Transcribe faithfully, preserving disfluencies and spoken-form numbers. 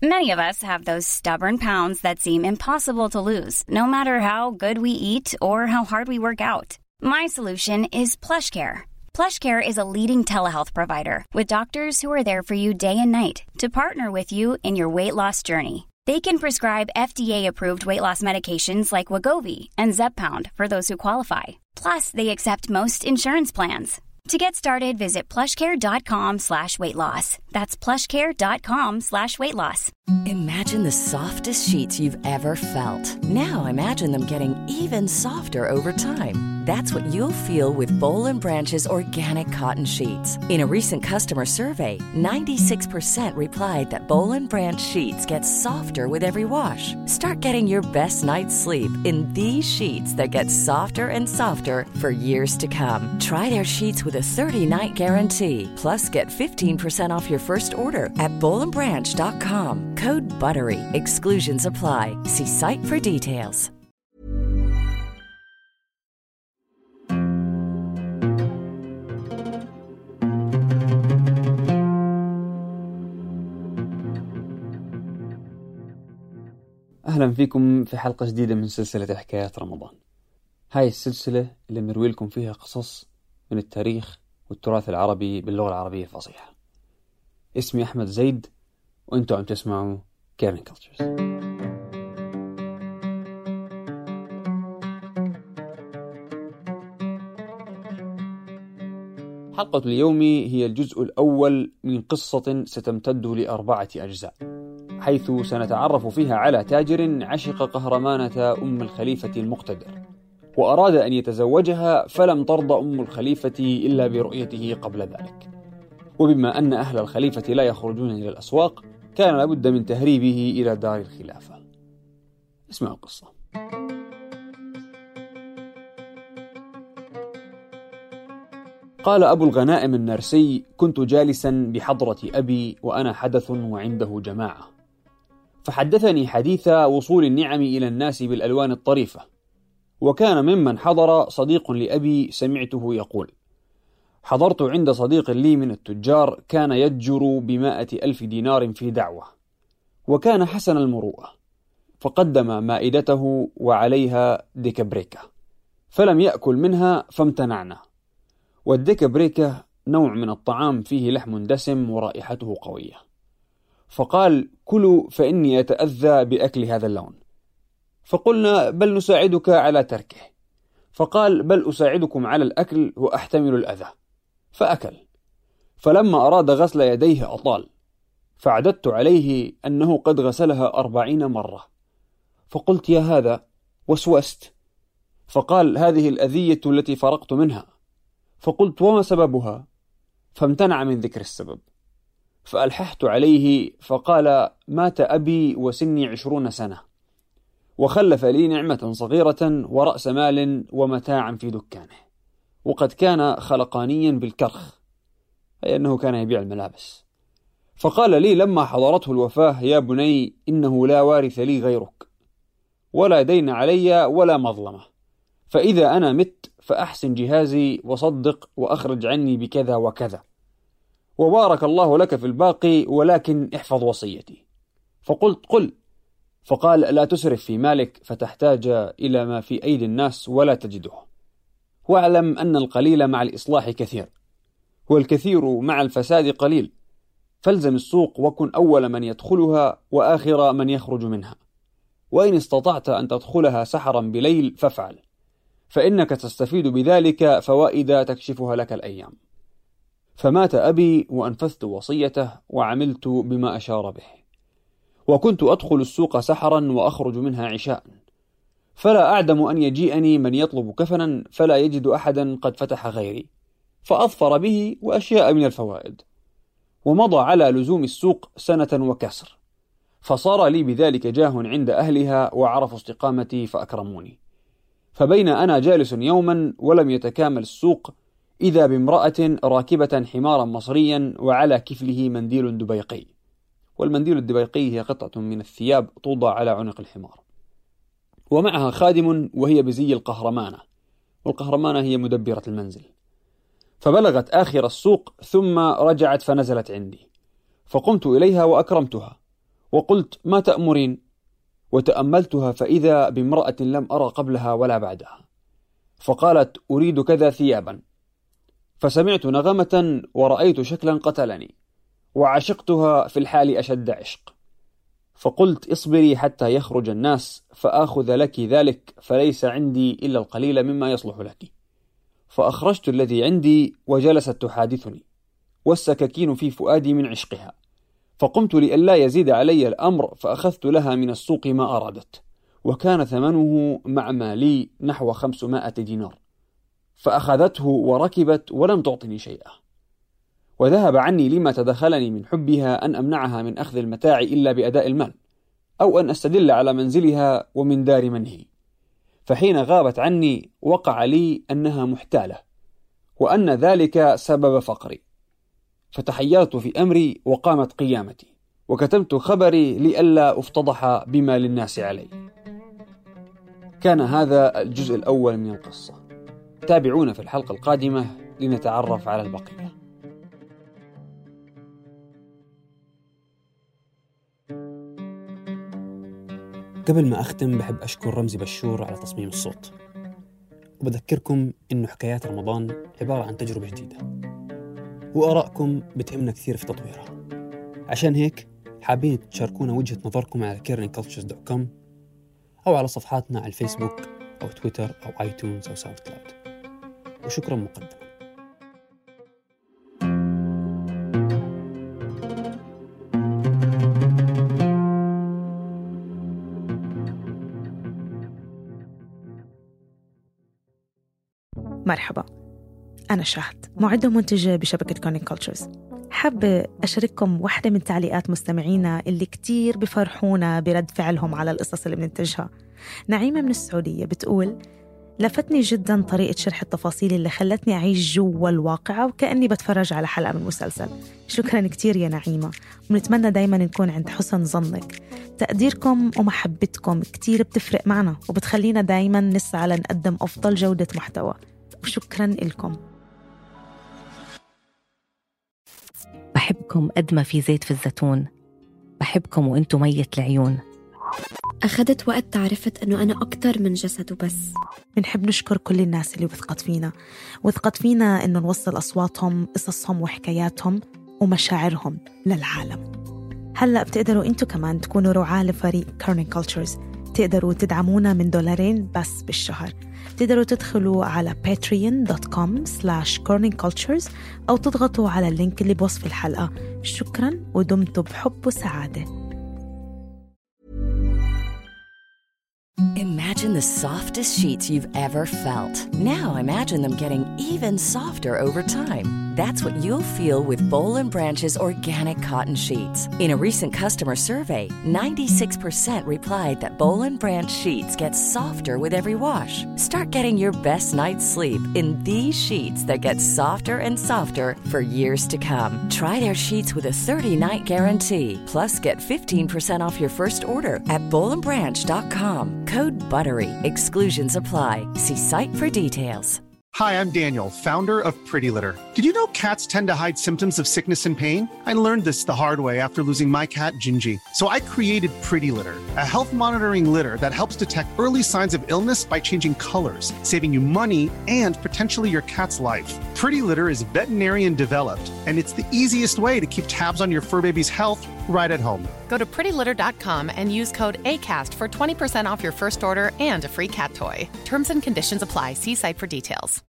Many of us have those stubborn pounds that seem impossible to lose, no matter how good we eat or how hard we work out. My solution is PlushCare. PlushCare is a leading telehealth provider with doctors who are there for you day and night to partner with you in your weight loss journey. They can prescribe F D A-approved weight loss medications like Wegovy and Zepbound for those who qualify. Plus, they accept most insurance plans. To get started, visit plushcare.com slash weight loss. That's plushcare.com slash weight loss. Imagine the softest sheets you've ever felt. Now imagine them getting even softer over time. That's what you'll feel with Boll and Branch's organic cotton sheets. In a recent customer survey, ninety-six percent replied that Boll and Branch sheets get softer with every wash. Start getting your best night's sleep in these sheets that get softer and softer for years to come. Try their sheets with a thirty-night guarantee. Plus, get fifteen percent off your first order at boll and branch dot com. Code BUTTERY. Exclusions apply. See site for details. أهلا فيكم في حلقة جديدة من سلسلة حكايات رمضان. هاي السلسلة اللي بنروي لكم فيها قصص من التاريخ والتراث العربي باللغة العربية الفصيحة. اسمي أحمد زيد وأنتوا عم تسمعوا كيرن كلتشرز. حلقة اليوم هي الجزء الأول من قصة ستمتد لأربعة أجزاء، حيث سنتعرف فيها على تاجر عشق قهرمانة أم الخليفة المقتدر، وأراد أن يتزوجها فلم ترضى أم الخليفة إلا برؤيته قبل ذلك. وبما أن أهل الخليفة لا يخرجون إلى الأسواق، كان لابد من تهريبه إلى دار الخلافة. اسمعوا القصة. قال أبو الغنائم النرسي: كنت جالسا بحضرة أبي وأنا حدث وعنده جماعة، فحدثني حديث وصول النعم إلى الناس بالألوان الطريفة. وكان ممن حضر صديق لأبي سمعته يقول: حضرت عند صديق لي من التجار كان يتجر بمائة ألف دينار في دعوة، وكان حسن المروءة، فقدم مائدته وعليها ديكابريكا، فلم يأكل منها فامتنعنا. والديكابريكا نوع من الطعام فيه لحم دسم ورائحته قوية، فقال: كلوا فإني أتأذى بأكل هذا اللون. فقلنا: بل نساعدك على تركه. فقال: بل أساعدكم على الأكل وأحتمل الأذى. فأكل، فلما أراد غسل يديه أطال، فعددت عليه أنه قد غسلها أربعين مرة. فقلت: يا هذا، وسوست. فقال: هذه الأذية التي فرقت منها. فقلت: وما سببها؟ فامتنع من ذكر السبب. فألححت عليه فقال: مات أبي وسني عشرون سنة، وخلف لي نعمة صغيرة ورأس مال ومتاعا في دكانه، وقد كان خلقانيا بالكرخ، أي أنه كان يبيع الملابس. فقال لي لما حضرته الوفاة: يا بني، إنه لا وارث لي غيرك، ولا دين علي ولا مظلمة، فإذا أنا مت فأحسن جهازي وصدق وأخرج عني بكذا وكذا، وبارك الله لك في الباقي، ولكن احفظ وصيتي. فقلت: قل. فقال: لا تسرف في مالك فتحتاج إلى ما في أيدي الناس ولا تجده، واعلم أن القليل مع الإصلاح كثير، والكثير مع الفساد قليل، فالزم السوق وكن أول من يدخلها وآخر من يخرج منها، وإن استطعت أن تدخلها سحرا بليل فافعل، فإنك تستفيد بذلك فوائد تكشفها لك الأيام. فمات أبي وأنفذت وصيته وعملت بما أشار به، وكنت أدخل السوق سحرا وأخرج منها عشاء، فلا أعدم أن يجيئني من يطلب كفنا فلا يجد أحدا قد فتح غيري، فأظفر به وأشياء من الفوائد. ومضى على لزوم السوق سنة وكسر، فصار لي بذلك جاه عند أهلها وعرفوا استقامتي فأكرموني. فبين أنا جالس يوما ولم يتكامل السوق، إذا بامرأة راكبة حمارا مصريا وعلى كفله منديل دبيقي، والمنديل الدبيقي هي قطعة من الثياب توضع على عنق الحمار، ومعها خادم وهي بزي القهرمانة، والقهرمانة هي مدبرة المنزل. فبلغت آخر السوق ثم رجعت فنزلت عندي، فقمت إليها وأكرمتها، وقلت: ما تأمرين؟ وتأملتها فإذا بامرأة لم أرى قبلها ولا بعدها، فقالت: أريد كذا ثيابا. فسمعت نغمة ورأيت شكلا قتلني، وعشقتها في الحال أشد عشق. فقلت: اصبري حتى يخرج الناس فآخذ لك ذلك، فليس عندي إلا القليل مما يصلح لك. فأخرجت الذي عندي وجلست تحادثني، والسكاكين في فؤادي من عشقها. فقمت لئلا يزيد علي الأمر، فأخذت لها من السوق ما أرادت، وكان ثمنه مع مالي نحو خمسمائة دينار. فأخذته وركبت ولم تعطني شيئا. وذهب عني لما تدخلني من حبها أن أمنعها من أخذ المتاع إلا بأداء المال، أو أن أستدل على منزلها ومن دار منهي. فحين غابت عني وقع لي أنها محتالة، وأن ذلك سبب فقري. فتحيرت في أمري وقامت قيامتي، وكتمت خبري لئلا أفتضح بما للناس علي. كان هذا الجزء الأول من القصة. تابعونا في الحلقة القادمة لنتعرف على البقية. قبل ما أختم بحب أشكر رمزي بشور على تصميم الصوت، وبذكركم إنه حكايات رمضان عبارة عن تجربة جديدة، وآرائكم بتهمنا كثير في تطويرها. عشان هيك حابين تشاركونا وجهة نظركم على كيرنينج كولتشرز دوت كوم أو على صفحاتنا على الفيسبوك أو تويتر أو آيتونز أو ساوند كلاود. وشكرا مقدما. مرحبا، أنا شهد، معدة ومنتجة بشبكة كيرنينج كولتشرز. حابة أشارككم واحدة من تعليقات مستمعينا اللي كتير بفرحونا برد فعلهم على القصص اللي بننتجها. نعيمة من السعودية بتقول: لفتني جدا طريقة شرح التفاصيل اللي خلتني أعيش جوا الواقعة وكأني بتفرج على حلقة من مسلسل. شكرا كتير يا نعيمة، ونتمنى دايما نكون عند حسن ظنك. تقديركم ومحبتكم كتير بتفرق معنا وبتخلينا دايما نسعى لنقدم أفضل جودة محتوى، وشكرا لكم. بحبكم قد ما في زيت في الزيتون، بحبكم وانتو مية العيون. أخذت وقت تعرفت أنه أنا أكتر من جسد وبس. بنحب نشكر كل الناس اللي وثقت فينا وثقت فينا أنه نوصل أصواتهم، قصصهم وحكاياتهم ومشاعرهم للعالم. هلأ بتقدروا أنتو كمان تكونوا رعاة لفريق كيرنينج كولتشرز. تقدروا تدعمونا من دولارين بس بالشهر. تقدروا تدخلوا على patreon dot com slash kearney cultures أو تضغطوا على اللينك اللي بوصف الحلقة. شكراً ودمتم بحب وسعادة. Imagine the softest sheets you've ever felt. Now imagine them getting even softer over time. That's what you'll feel with Boll and Branch's organic cotton sheets. In a recent customer survey, ninety-six percent replied that Boll and Branch sheets get softer with every wash. Start getting your best night's sleep in these sheets that get softer and softer for years to come. Try their sheets with a thirty-night guarantee. Plus, get fifteen percent off your first order at boll and branch dot com. Code BUTTERY. Exclusions apply. See site for details. Hi, I'm Daniel, founder of Pretty Litter. Did you know cats tend to hide symptoms of sickness and pain? I learned this the hard way after losing my cat, Gingy. So I created Pretty Litter, a health monitoring litter that helps detect early signs of illness by changing colors, saving you money and potentially your cat's life. Pretty Litter is veterinarian developed, and it's the easiest way to keep tabs on your fur baby's health right at home. Go to pretty litter dot com and use code ACAST for twenty percent off your first order and a free cat toy. Terms and conditions apply. See site for details.